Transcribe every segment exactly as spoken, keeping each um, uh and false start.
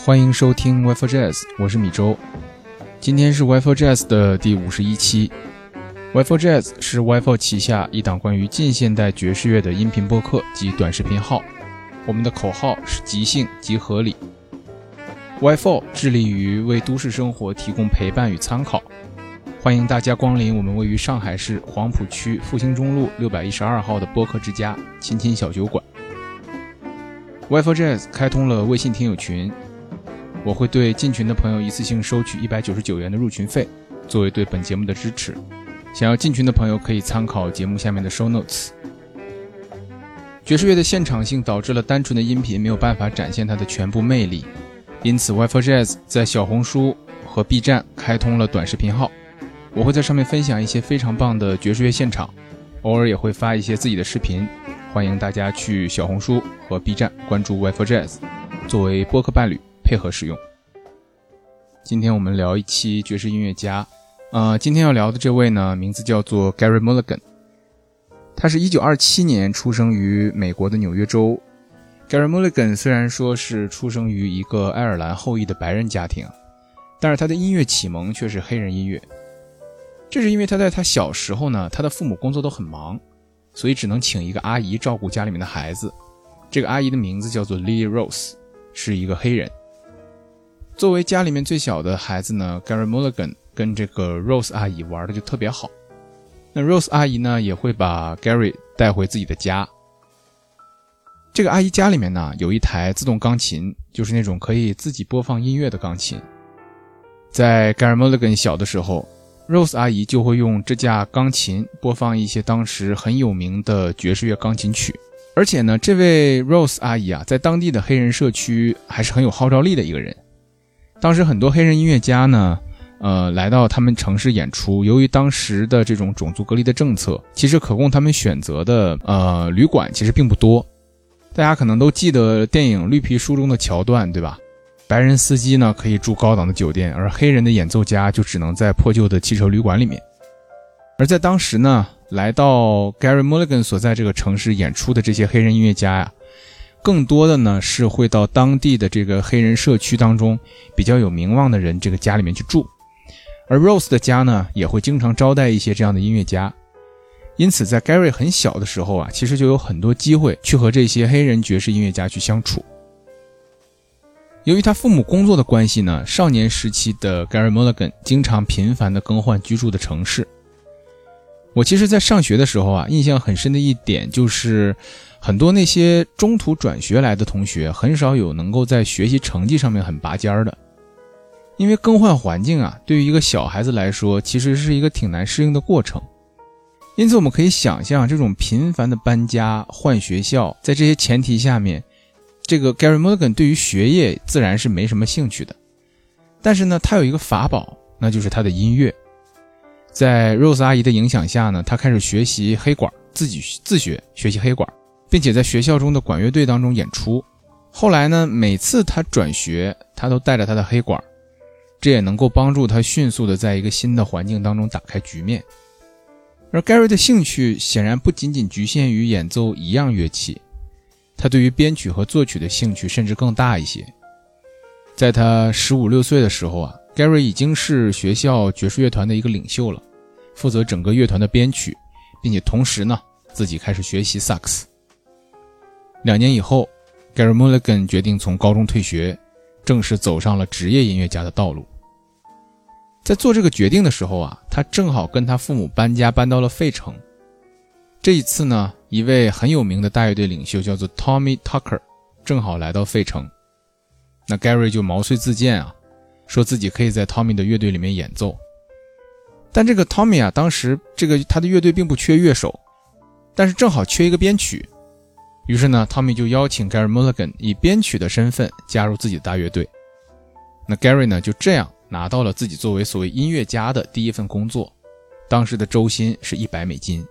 欢迎收听 Y four Jazz， 我是米周。今天是 Y four Jazz 的第五十一期。Y four Jazz 是 Y four 旗下一档关于近现代爵士乐的音频播客及短视频号。我们的口号是即兴即合理。Y four 致力于为都市生活提供陪伴与参考，欢迎大家光临我们位于上海市黄浦区复兴中路六百一十二号的播客之家亲亲小酒馆。Y four Jazz 开通了微信听友群，我会对进群的朋友一次性收取一百九十九元的入群费，作为对本节目的支持。想要进群的朋友可以参考节目下面的 show notes。 爵士乐的现场性导致了单纯的音频没有办法展现它的全部魅力，因此 Y four Jazz 在小红书和 B 站开通了短视频号，我会在上面分享一些非常棒的爵士乐现场，偶尔也会发一些自己的视频，欢迎大家去小红书和 B 站关注 Y four Jazz， 作为播客伴侣配合使用。今天我们聊一期爵士音乐家，呃，今天要聊的这位呢，名字叫做 Gary Mulligan。他是一九二七年出生于美国的纽约州。Gary Mulligan 虽然说是出生于一个爱尔兰后裔的白人家庭，但是他的音乐启蒙却是黑人音乐。这是因为他在他小时候呢，他的父母工作都很忙，所以只能请一个阿姨照顾家里面的孩子。这个阿姨的名字叫做 Lily Rose， 是一个黑人。作为家里面最小的孩子呢， Gary Mulligan 跟这个 Rose 阿姨玩的就特别好。那 Rose 阿姨呢也会把 Gary 带回自己的家。这个阿姨家里面呢有一台自动钢琴，就是那种可以自己播放音乐的钢琴。在 Gary Mulligan 小的时候， Rose 阿姨就会用这架钢琴播放一些当时很有名的爵士乐钢琴曲。而且呢，这位 Rose 阿姨啊，在当地的黑人社区还是很有号召力的一个人。当时很多黑人音乐家呢呃，来到他们城市演出，由于当时的这种种族隔离的政策，其实可供他们选择的呃旅馆其实并不多。大家可能都记得电影《绿皮书》中的桥段，对吧？白人司机呢可以住高档的酒店，而黑人的演奏家就只能在破旧的汽车旅馆里面。而在当时呢，来到 Gary Mulligan 所在这个城市演出的这些黑人音乐家呀，更多的呢是会到当地的这个黑人社区当中比较有名望的人这个家里面去住。而 Rose 的家呢也会经常招待一些这样的音乐家，因此在 Gary 很小的时候啊，其实就有很多机会去和这些黑人爵士音乐家去相处。由于他父母工作的关系呢，少年时期的 Gary Mulligan 经常频繁地更换居住的城市。我其实在上学的时候啊，印象很深的一点就是很多那些中途转学来的同学很少有能够在学习成绩上面很拔尖的。因为更换环境啊，对于一个小孩子来说其实是一个挺难适应的过程。因此我们可以想象，这种频繁的搬家换学校，在这些前提下面，这个 Gary Mulligan 对于学业自然是没什么兴趣的。但是呢，他有一个法宝，那就是他的音乐。在 Rose 阿姨的影响下呢，他开始学习黑管，自己自学学习黑管，并且在学校中的管乐队当中演出。后来呢，每次他转学，他都带着他的黑管，这也能够帮助他迅速的在一个新的环境当中打开局面。而 Gary 的兴趣显然不仅仅局限于演奏一样乐器，他对于编曲和作曲的兴趣甚至更大一些。在他十五六岁的时候啊， Gary 已经是学校爵士乐团的一个领袖了，负责整个乐团的编曲，并且同时呢自己开始学习萨克斯。两年以后， Gary Mulligan 决定从高中退学，正式走上了职业音乐家的道路。在做这个决定的时候啊，他正好跟他父母搬家搬到了费城。这一次呢，一位很有名的大乐队领袖叫做 Tommy Tucker 正好来到费城。那 Gary 就毛遂自荐啊，说自己可以在 Tommy 的乐队里面演奏。但这个 Tommy 啊，当时这个他的乐队并不缺乐手，但是正好缺一个编曲。于是呢 Tommy 就邀请 Gary Mulligan 以编曲的身份加入自己的大乐队。那 Gary 呢就这样拿到了自己作为所谓音乐家的第一份工作，当时的周薪是一百美金。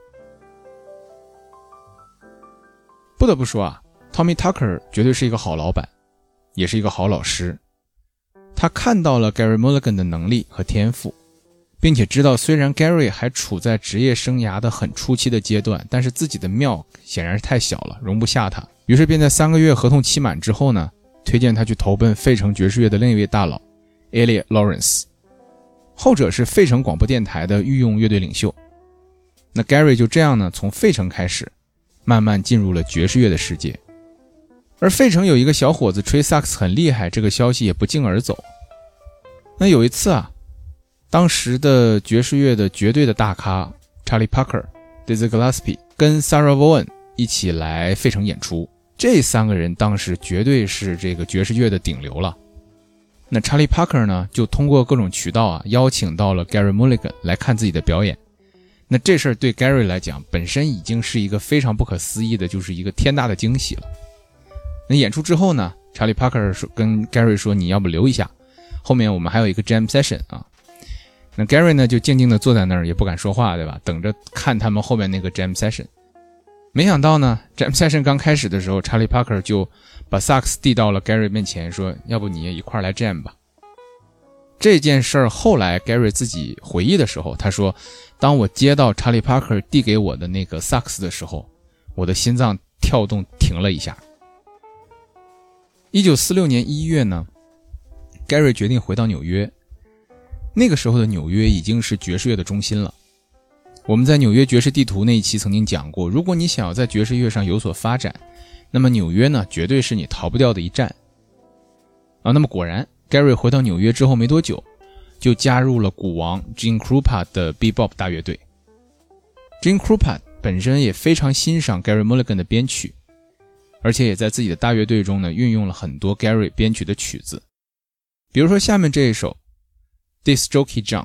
不得不说啊， Tommy Tucker 绝对是一个好老板，也是一个好老师。他看到了 Gary Mulligan 的能力和天赋，并且知道虽然 Gary 还处在职业生涯的很初期的阶段，但是自己的庙显然是太小了，容不下他。于是便在三个月合同期满之后呢， 推荐他去投奔费城爵士乐的另一位大佬 Elliot Lawrence， 后者是费城广播电台的御用乐队领袖。那 Gary 就这样呢，从费城开始慢慢进入了爵士乐的世界。而费城有一个小伙子吹萨克斯很厉害，这个消息也不胫而走。那有一次啊，当时的爵士乐的绝对的大咖 Charlie Parker、Dizzy Gillespie 跟 Sarah Vaughan 一起来费城演出，这三个人当时绝对是这个爵士乐的顶流了。那 Charlie Parker 呢，就通过各种渠道啊，邀请到了 Gary Mulligan 来看自己的表演。那这事儿对 Gary 来讲，本身已经是一个非常不可思议的，就是一个天大的惊喜了。那演出之后呢， Charlie Parker 说跟 Gary 说，你要不留一下，后面我们还有一个 jam session 啊。那 Gary 呢就静静地坐在那儿，也不敢说话，对吧？等着看他们后面那个 jam session。没想到呢 jam session 刚开始的时候， Charlie Parker 就把萨克斯递到了 Gary 面前，说要不你也一块来 jam 吧。这件事儿后来 Gary 自己回忆的时候，他说，当我接到 Charlie Parker 递给我的那个萨克斯的时候，我的心脏跳动停了一下。一九四六年一月呢， Gary 决定回到纽约。那个时候的纽约已经是爵士乐的中心了。我们在纽约爵士地图那一期曾经讲过，如果你想要在爵士乐上有所发展，那么纽约呢绝对是你逃不掉的一站啊。那么果然 Gary 回到纽约之后没多久，就加入了鼓王 Gene Krupa 的 Bebop 大乐队。 Gene Krupa 本身也非常欣赏 Gary Mulligan 的编曲，而且也在自己的大乐队中呢运用了很多 Gary 编曲的曲子，比如说下面这一首 Disc Jockey Jump。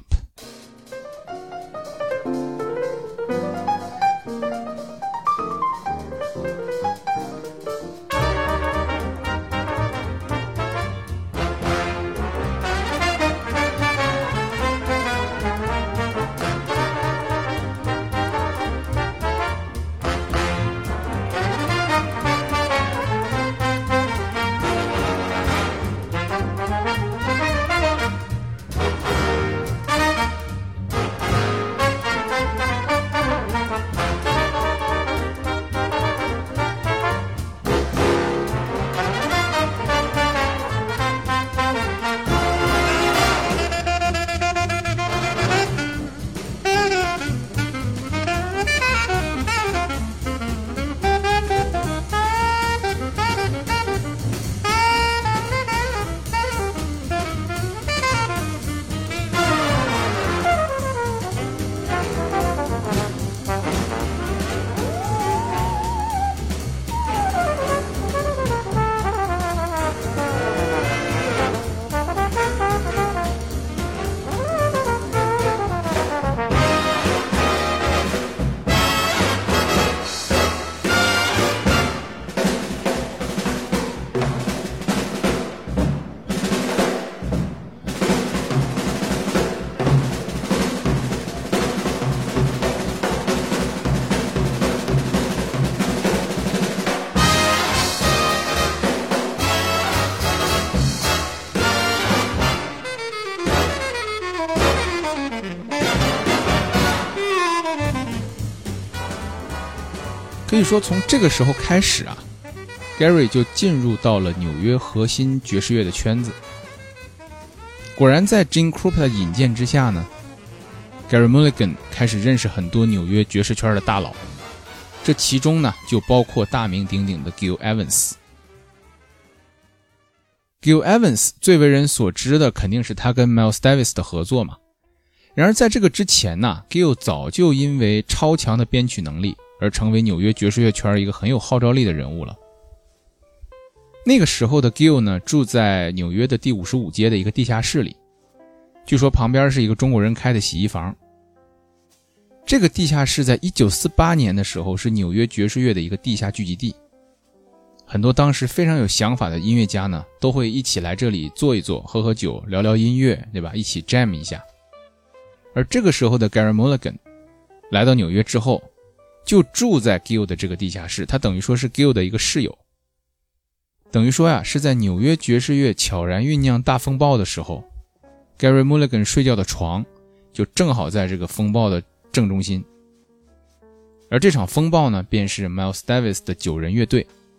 可以说从这个时候开始啊， Gary 就进入到了纽约核心爵士乐的圈子。果然在 Gene Krupa 的引荐之下呢， Gary Mulligan 开始认识很多纽约爵士圈的大佬，这其中呢就包括大名鼎鼎的 Gil Evans。 Gil Evans 最为人所知的肯定是他跟 Miles Davis 的合作嘛。然而在这个之前呢， Gil 早就因为超强的编曲能力而成为纽约爵士乐圈一个很有号召力的人物了。那个时候的 Gil 呢，住在纽约的第五十五街的一个地下室里，据说旁边是一个中国人开的洗衣房。这个地下室在一九四八年的时候是纽约爵士乐的一个地下聚集地，很多当时非常有想法的音乐家呢，都会一起来这里坐一坐，喝喝酒，聊聊音乐，对吧？一起 jam 一下。而这个时候的 Gary Mulligan 来到纽约之后，就住在 Gil 的这个地下室，他等于说是 Gil 的一个室友。等于说呀，是在纽约爵士乐悄然酝酿大风暴的时候， Gary Mulligan 睡觉的床就正好在这个风暴的正中心。而这场风暴呢，便是 Miles Davis 的九人乐队，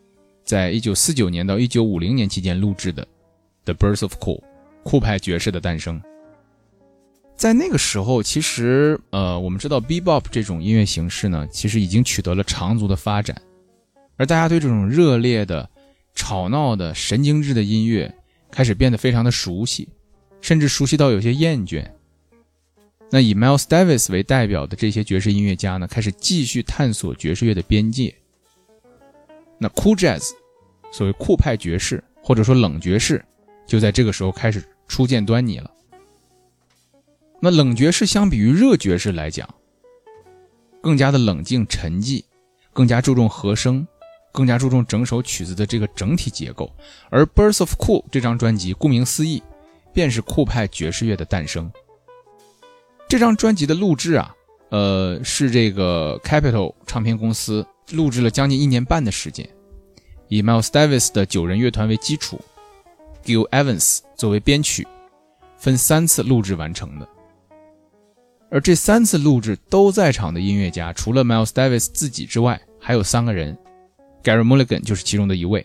在一九四九年到一九五零年期间录制的 The Birth of Cool 酷派爵士的诞生。在那个时候，其实呃，我们知道 Bebop 这种音乐形式呢，其实已经取得了长足的发展，而大家对这种热烈的、吵闹的、神经质的音乐开始变得非常的熟悉，甚至熟悉到有些厌倦。那以 Miles Davis 为代表的这些爵士音乐家呢，开始继续探索爵士乐的边界。那 Cool Jazz 所谓酷派爵士或者说冷爵士就在这个时候开始初见端倪了。那冷爵士相比于热爵士来讲，更加的冷静沉寂，更加注重和声，更加注重整首曲子的这个整体结构。而 Birth of Cool 这张专辑顾名思义便是酷派爵士乐的诞生。这张专辑的录制啊，呃，是这个 Capitol 唱片公司录制了将近一年半的时间，以 Miles Davis 的九人乐团为基础， Gil Evans 作为编曲，分三次录制完成的。而这三次录制都在场的音乐家，除了 Miles Davis 自己之外，还有三个人， Gary Mulligan 就是其中的一位。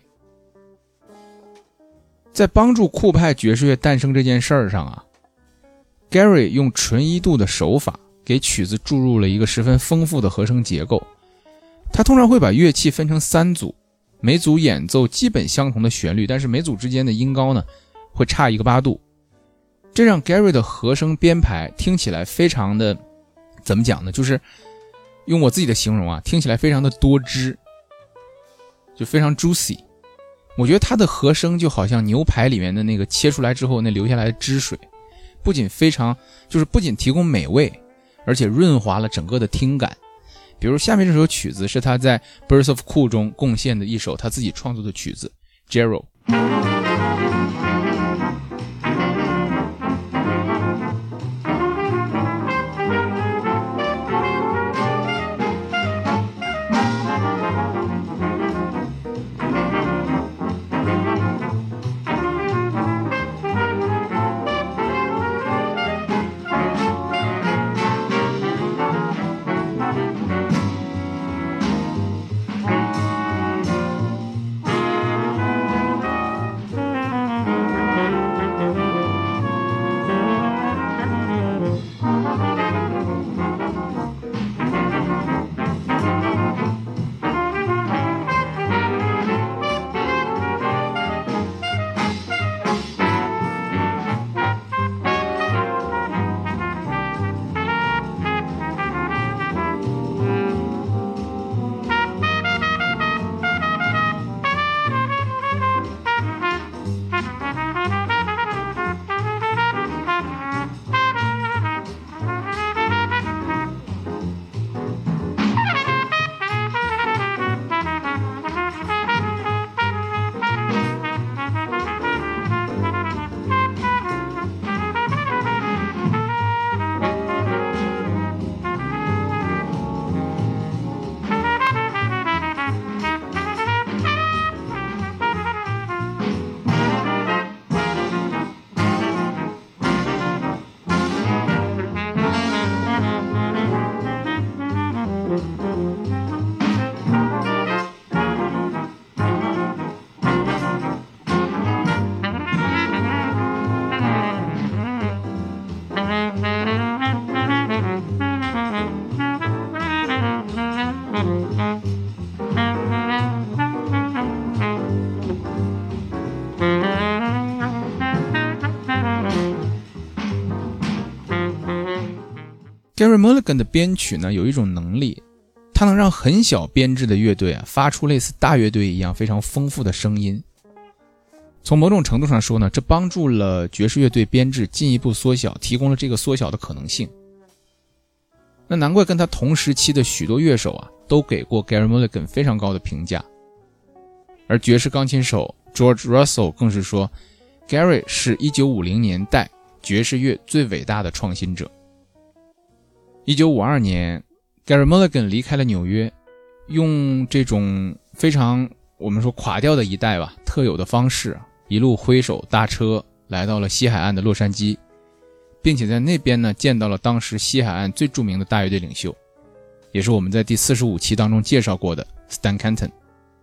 在帮助酷派爵士乐诞生这件事儿上啊， Gary 用纯一度的手法给曲子注入了一个十分丰富的和声结构。他通常会把乐器分成三组，每组演奏基本相同的旋律，但是每组之间的音高呢会差一个八度。这让 Gary 的和声编排听起来非常的，怎么讲呢，就是用我自己的形容啊，听起来非常的多汁，就非常 juicy。 我觉得他的和声就好像牛排里面的那个切出来之后那留下来的汁水，不仅非常就是不仅提供美味，而且润滑了整个的听感。比如下面这首曲子是他在 Birth of Cool 中贡献的一首他自己创作的曲子 Jero。 Gary Mulligan 的编曲呢，有一种能力，它能让很小编制的乐队啊，发出类似大乐队一样非常丰富的声音。从某种程度上说呢，这帮助了爵士乐队编制进一步缩小，提供了这个缩小的可能性。那难怪跟他同时期的许多乐手啊，都给过 Gary Mulligan 非常高的评价。而爵士钢琴手 George Russell 更是说， Gary 是一九五零年代爵士乐最伟大的创新者。一九五二年 Gary Mulligan 离开了纽约，用这种非常我们说垮掉的一代吧特有的方式，一路挥手搭车来到了西海岸的洛杉矶，并且在那边呢见到了当时西海岸最著名的大乐队领袖，也是我们在第四十五期当中介绍过的 Stan Kenton。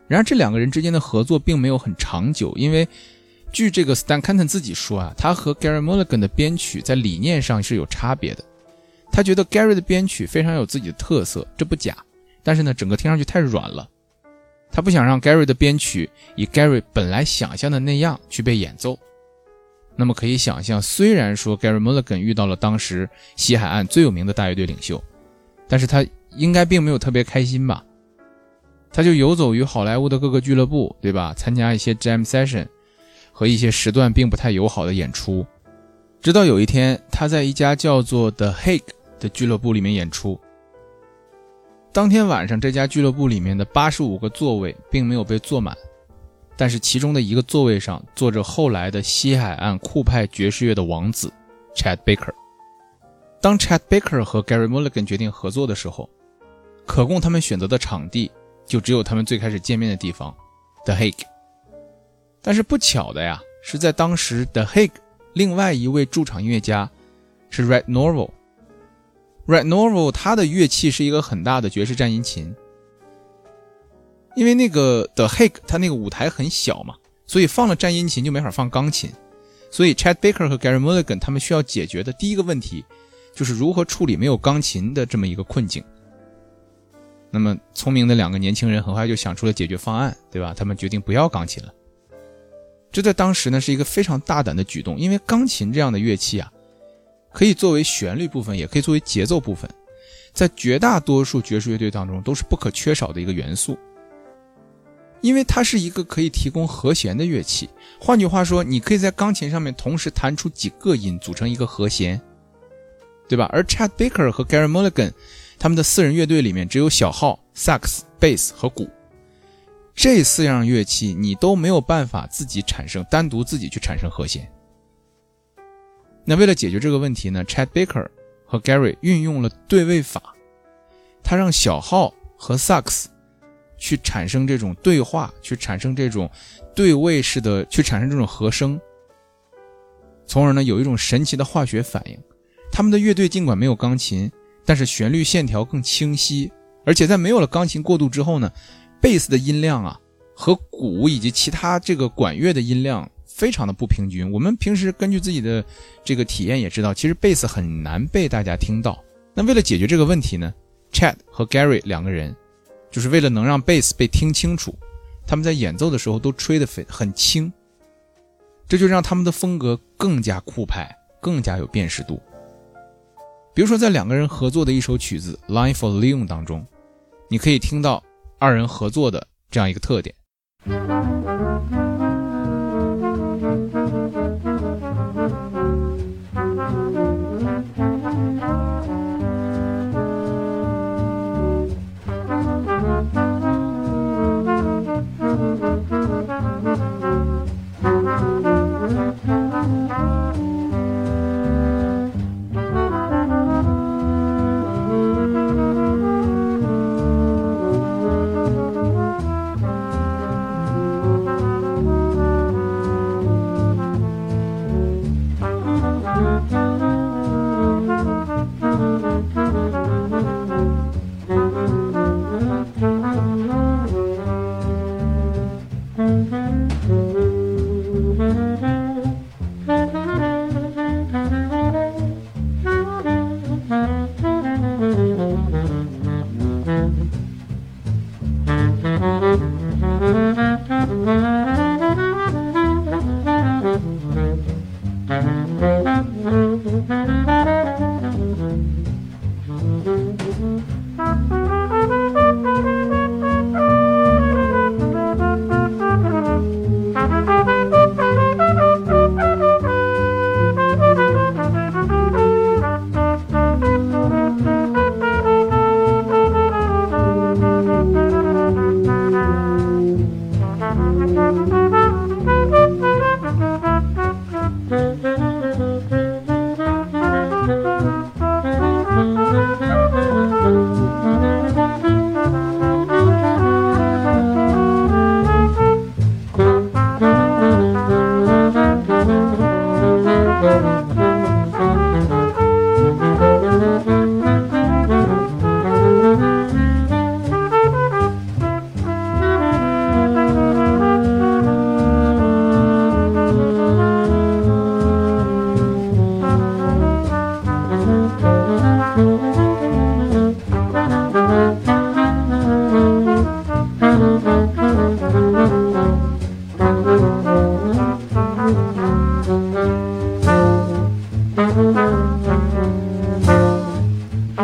然而这两个人之间的合作并没有很长久，因为据这个 Stan Kenton 自己说啊，他和 Gary Mulligan 的编曲在理念上是有差别的。他觉得 Gary 的编曲非常有自己的特色，这不假，但是呢，整个听上去太软了。他不想让 Gary 的编曲以 Gary 本来想象的那样去被演奏。那么可以想象，虽然说 Gary Mulligan 遇到了当时西海岸最有名的大乐队领袖，但是他应该并没有特别开心吧。他就游走于好莱坞的各个俱乐部，对吧？参加一些 jam session 和一些时段并不太友好的演出。直到有一天，他在一家叫做 The Hague 的俱乐部里面演出。当天晚上，这家俱乐部里面的八十五个座位并没有被坐满，但是其中的一个座位上坐着后来的西海岸酷派爵士乐的王子 Chet Baker。 当 Chet Baker 和 Gary Mulligan 决定合作的时候，可供他们选择的场地就只有他们最开始见面的地方 The Hague。 但是不巧的呀，是在当时 The Hague 另外一位驻场音乐家是 Red Norvo。Red Norvo 他的乐器是一个很大的爵士战音琴，因为那个 The Hague 他那个舞台很小嘛，所以放了战音琴就没法放钢琴，所以 Chet Baker 和 Gary Mulligan 他们需要解决的第一个问题就是如何处理没有钢琴的这么一个困境。那么聪明的两个年轻人很快就想出了解决方案，对吧？他们决定不要钢琴了。这在当时呢是一个非常大胆的举动，因为钢琴这样的乐器啊，可以作为旋律部分，也可以作为节奏部分，在绝大多数爵士乐队当中都是不可缺少的一个元素。因为它是一个可以提供和弦的乐器，换句话说，你可以在钢琴上面同时弹出几个音组成一个和弦，对吧？而 Chet Baker 和 Gary Mulligan 他们的四人乐队里面只有小号、萨克斯、贝斯和鼓，这四样乐器你都没有办法自己产生，单独自己去产生和弦。那为了解决这个问题呢， Chet Baker 和 Gary 运用了对位法，他让小号和萨克斯去产生这种对话，去产生这种对位式的，去产生这种和声，从而呢有一种神奇的化学反应。他们的乐队尽管没有钢琴，但是旋律线条更清晰，而且在没有了钢琴过渡之后呢，贝斯的音量啊和鼓以及其他这个管乐的音量非常的不平均。我们平时根据自己的这个体验也知道，其实贝斯很难被大家听到。那为了解决这个问题呢， Chet 和 Gary 两个人就是为了能让贝斯被听清楚，他们在演奏的时候都吹得很轻，这就让他们的风格更加酷派，更加有辨识度。比如说在两个人合作的一首曲子 Line for Leon 当中，你可以听到二人合作的这样一个特点。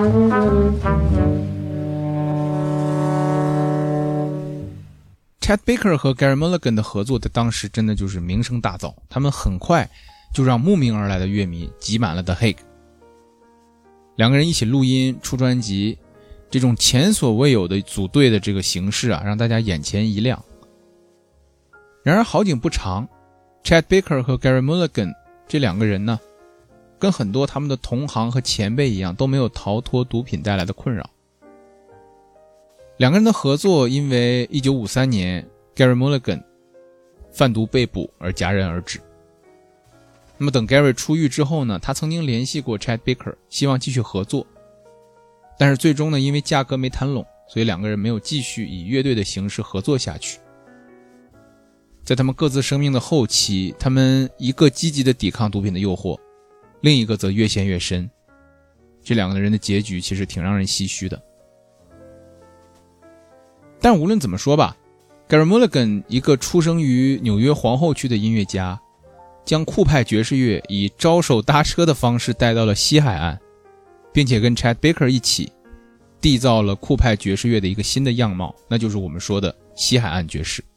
Chet Baker 和 Gary Mulligan 的合作在当时真的就是名声大噪，他们很快就让慕名而来的乐迷挤满了 The Hague。 两个人一起录音出专辑，这种前所未有的组队的这个形式啊，让大家眼前一亮。然而好景不长， Chet Baker 和 Gary Mulligan 这两个人呢，跟很多他们的同行和前辈一样，都没有逃脱毒品带来的困扰。两个人的合作因为一九五三年 Gary Mulligan 贩毒被捕而戛然而止。那么等 Gary 出狱之后呢，他曾经联系过 Chet Baker， 希望继续合作，但是最终呢，因为价格没谈拢，所以两个人没有继续以乐队的形式合作下去。在他们各自生命的后期，他们一个积极的抵抗毒品的诱惑，另一个则越陷越深，这两个人的结局其实挺让人唏嘘的。但无论怎么说吧， Gary Mulligan 一个出生于纽约皇后区的音乐家，将酷派爵士乐以招手搭车的方式带到了西海岸，并且跟 Chet Baker 一起缔造了酷派爵士乐的一个新的样貌，那就是我们说的西海岸爵士。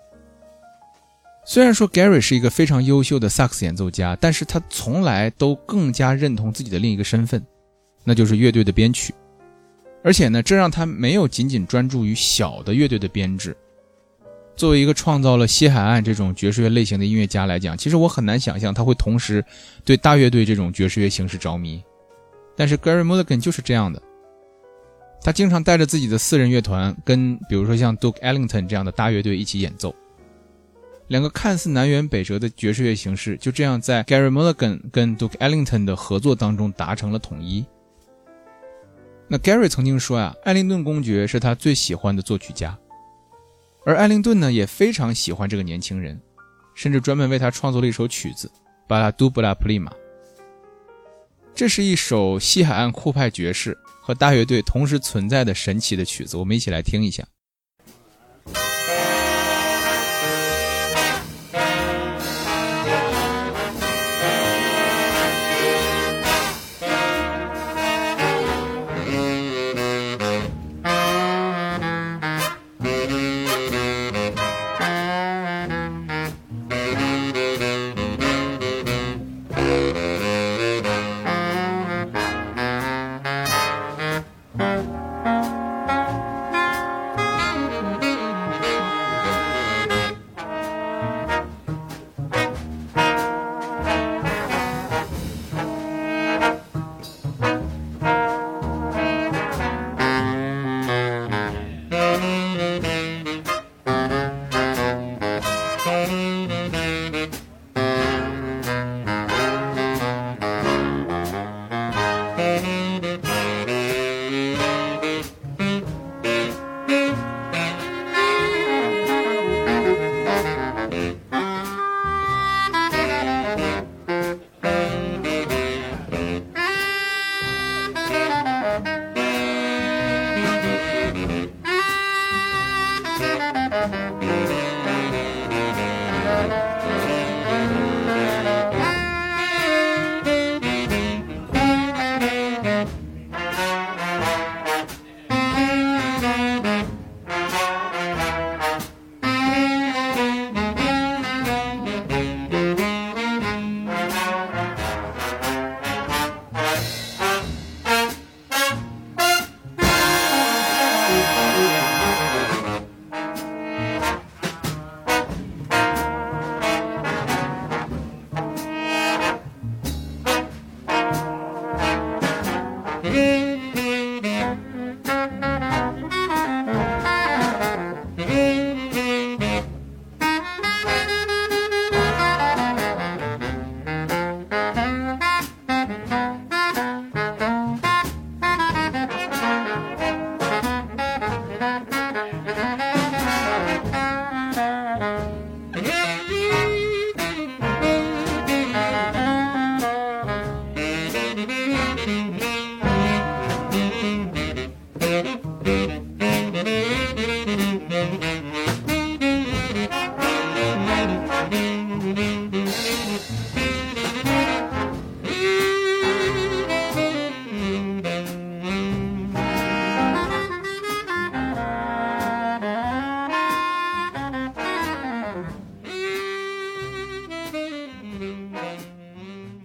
虽然说 Gary 是一个非常优秀的萨克斯演奏家，但是他从来都更加认同自己的另一个身份，那就是乐队的编曲。而且呢，这让他没有仅仅专注于小的乐队的编制。作为一个创造了西海岸这种爵士乐类型的音乐家来讲，其实我很难想象他会同时对大乐队这种爵士乐形式着迷。但是 Gary Mulligan 就是这样的，他经常带着自己的私人乐团，跟比如说像 Duke Ellington 这样的大乐队一起演奏。两个看似南辕北辙的爵士乐形式就这样在 Gary Mulligan 跟 Duke Ellington 的合作当中达成了统一。那 Gary 曾经说啊，艾灵顿公爵是他最喜欢的作曲家，而艾灵顿呢也非常喜欢这个年轻人，甚至专门为他创作了一首曲子巴拉杜布拉普利马。这是一首西海岸酷派爵士和大乐队同时存在的神奇的曲子，我们一起来听一下。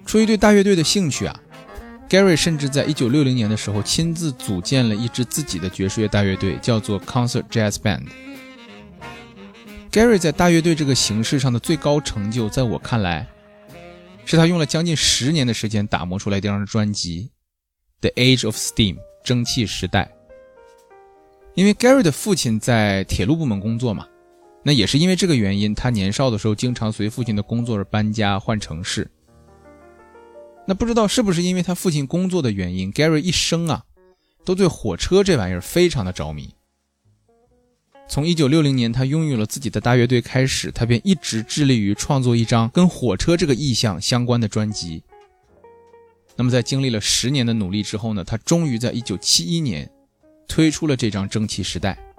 出于对大乐队的兴趣啊， Gary 甚至在一九六零年的时候亲自组建了一支自己的爵士乐大乐队，叫做 Concert Jazz Band。 Gary 在大乐队这个形式上的最高成就，在我看来是他用了将近十年的时间打磨出来这张专辑 The Age of Steam 蒸汽时代。因为 Gary 的父亲在铁路部门工作嘛，那也是因为这个原因，他年少的时候经常随父亲的工作而搬家换城市。那不知道是不是因为他父亲工作的原因， Gary 一生啊都对火车这玩意儿非常的着迷。从一九六零年他拥有了自己的大乐队开始，他便一直致力于创作一张跟火车这个意象相关的专辑。那么在经历了十年的努力之后呢，他终于在一九七一年推出了这张蒸汽时代。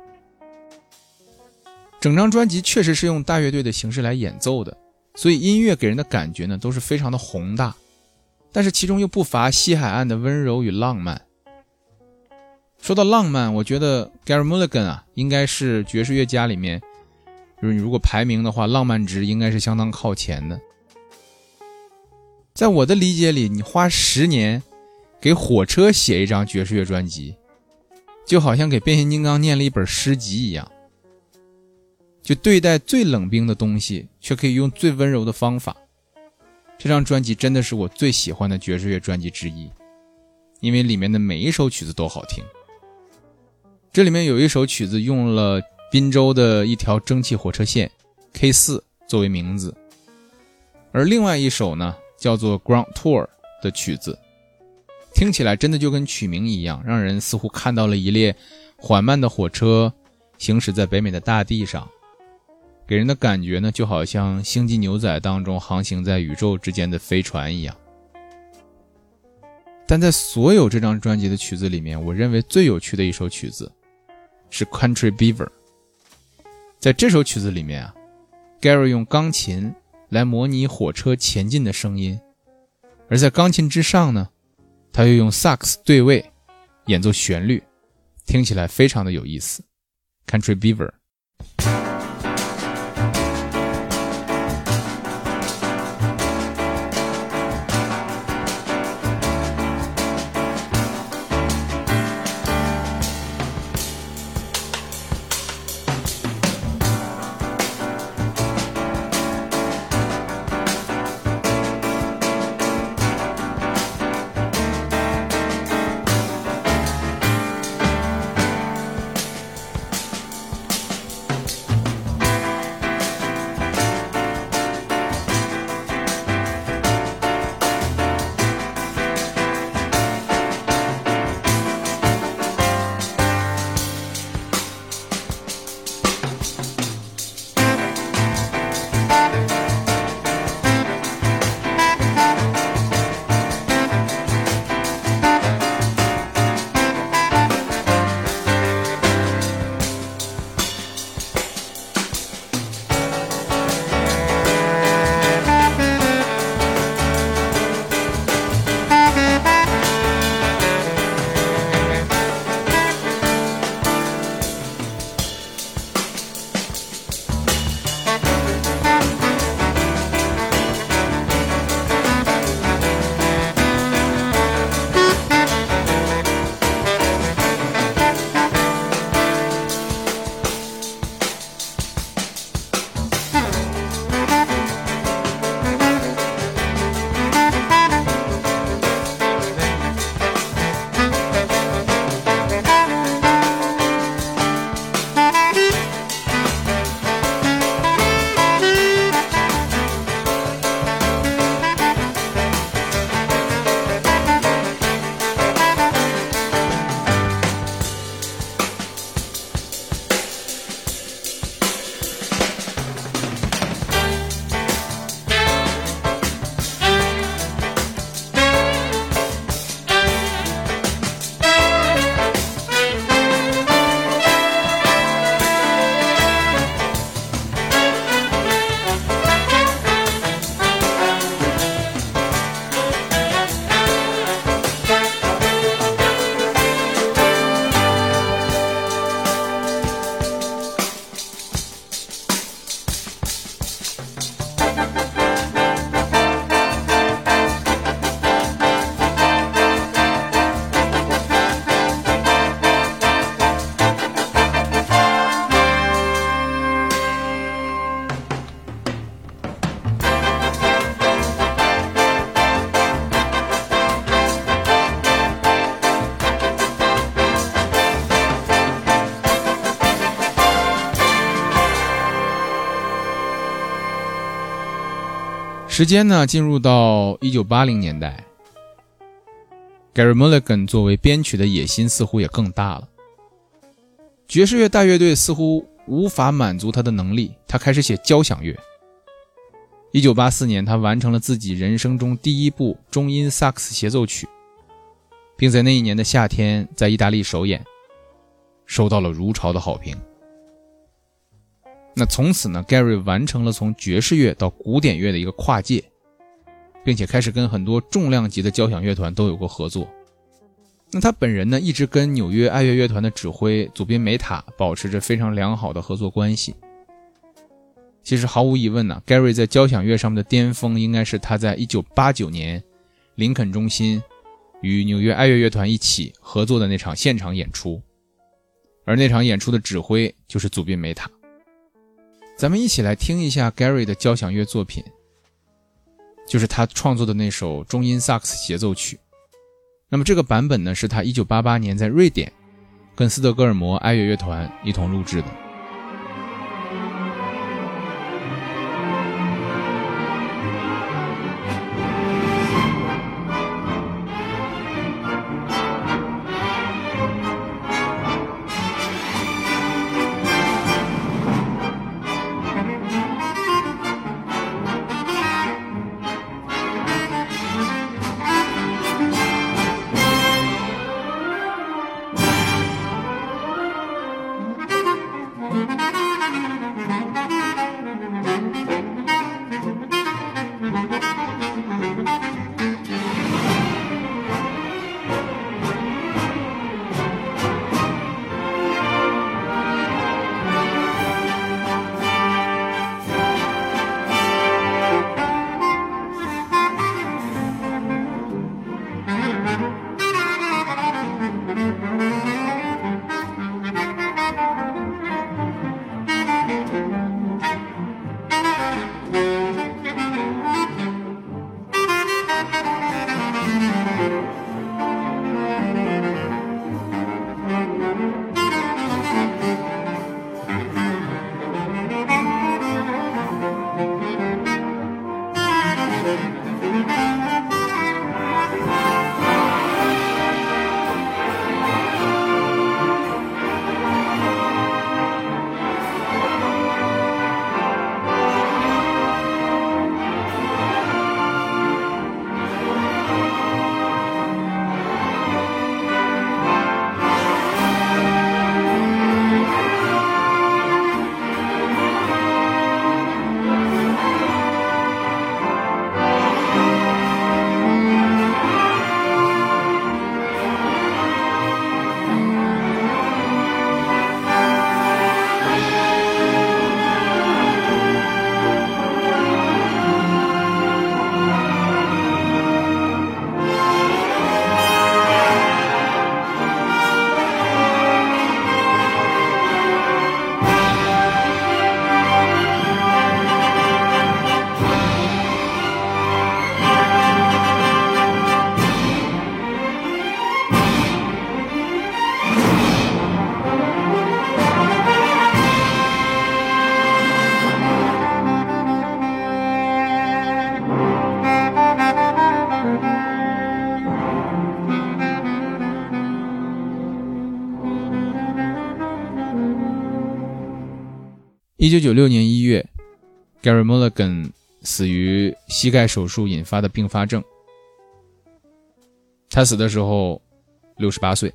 整张专辑确实是用大乐队的形式来演奏的，所以音乐给人的感觉呢都是非常的宏大，但是其中又不乏西海岸的温柔与浪漫。说到浪漫，我觉得 Gary Mulligan 啊应该是爵士乐家里面，就是你如果排名的话，浪漫值应该是相当靠前的。在我的理解里，你花十年给火车写一张爵士乐专辑，就好像给变形金刚念了一本诗集一样，就对待最冷冰的东西却可以用最温柔的方法。这张专辑真的是我最喜欢的爵士乐专辑之一，因为里面的每一首曲子都好听。这里面有一首曲子用了宾州的一条蒸汽火车线 K 四 作为名字，而另外一首呢叫做 Grand Tour 的曲子，听起来真的就跟曲名一样，让人似乎看到了一列缓慢的火车行驶在北美的大地上，给人的感觉呢就好像星际牛仔当中航行在宇宙之间的飞船一样。但在所有这张专辑的曲子里面，我认为最有趣的一首曲子是 Country Beaver。 在这首曲子里面啊， Gary 用钢琴来模拟火车前进的声音，而在钢琴之上呢，他又用萨克斯对位演奏旋律，听起来非常的有意思。 Country Beaver。 时间呢进入到一九八零年代， Gary Mulligan 作为编曲的野心似乎也更大了。爵士乐大乐队似乎无法满足他的能力，他开始写交响乐。一九八四年，他完成了自己人生中第一部中音萨克斯协奏曲，并在那一年的夏天在意大利首演，收到了如潮的好评。那从此呢 Gary 完成了从爵士乐到古典乐的一个跨界，并且开始跟很多重量级的交响乐团都有过合作。那他本人呢，一直跟纽约爱乐乐团的指挥祖宾梅塔保持着非常良好的合作关系。其实毫无疑问呢 Gary 在交响乐上面的巅峰应该是他在一九八九年林肯中心与纽约爱乐乐团一起合作的那场现场演出，而那场演出的指挥就是祖宾梅塔。咱们一起来听一下 Gary 的交响乐作品，就是他创作的那首中音萨克斯协奏曲。那么这个版本呢，是他一九八八年在瑞典跟斯德哥尔摩爱乐乐团一同录制的。 一九九六年一月 Gary Mulligan 死于膝盖手术引发的并发症，他死的时候六十八岁。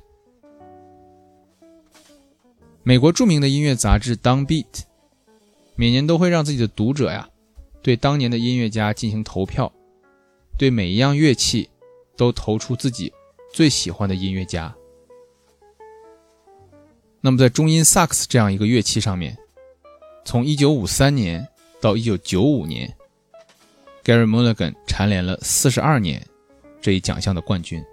美国著名的音乐杂志 Downbeat 每年都会让自己的读者呀对当年的音乐家进行投票，对每一样乐器都投出自己最喜欢的音乐家。那么在中音萨克斯这样一个乐器上面，从一九五三年到一九九五年 Gary Mulligan 蝉联了四十二年这一奖项的冠军。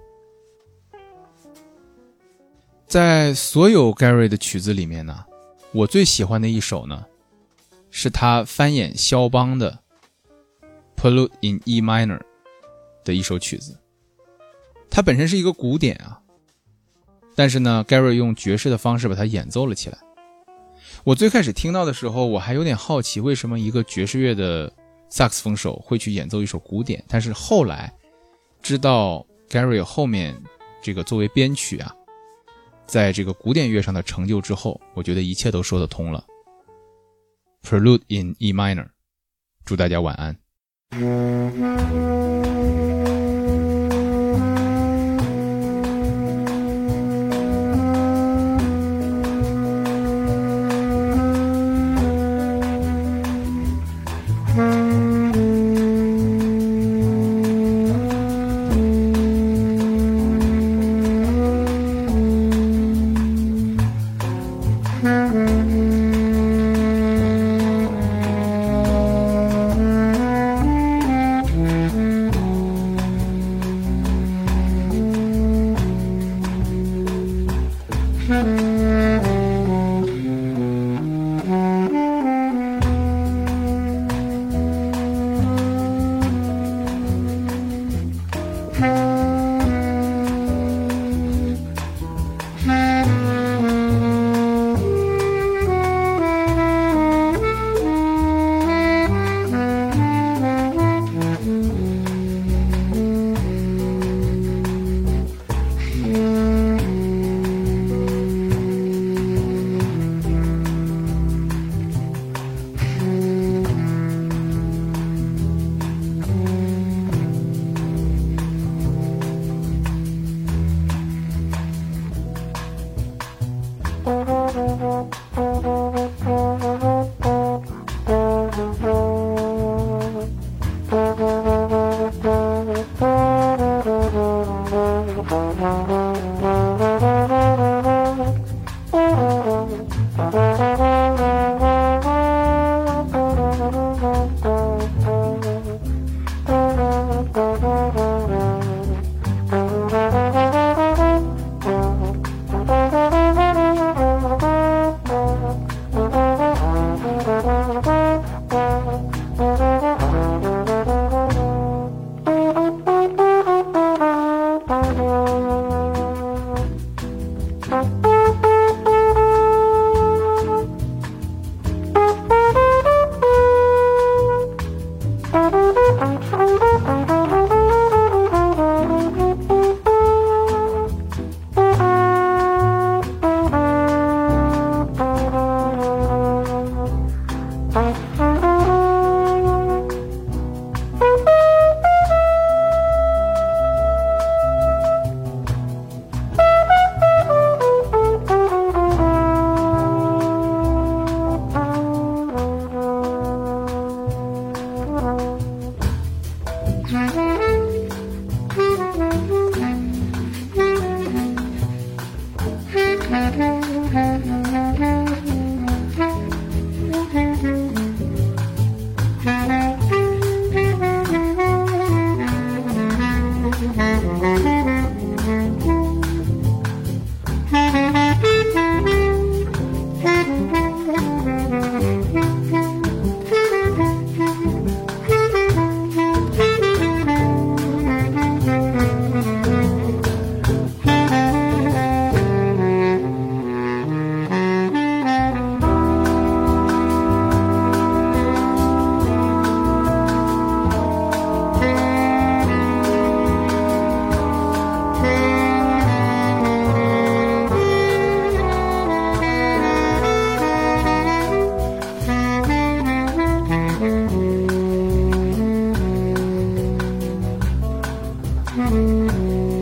在所有 Gary 的曲子里面呢，我最喜欢的一首呢是他翻演肖邦的 Prelude in E minor 的一首曲子。它本身是一个古典啊，但是呢 Gary 用爵士的方式把它演奏了起来。我最开始听到的时候，我还有点好奇，为什么一个爵士乐的萨克斯风手会去演奏一首古典，但是后来知道 Gary 后面这个作为编曲啊，在这个古典乐上的成就之后，我觉得一切都说得通了。Prelude in E minor， 祝大家晚安。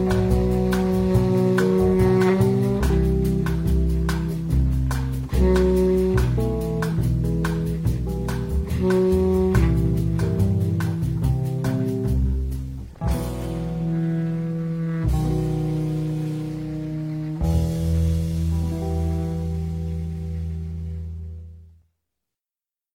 Mm-hmm.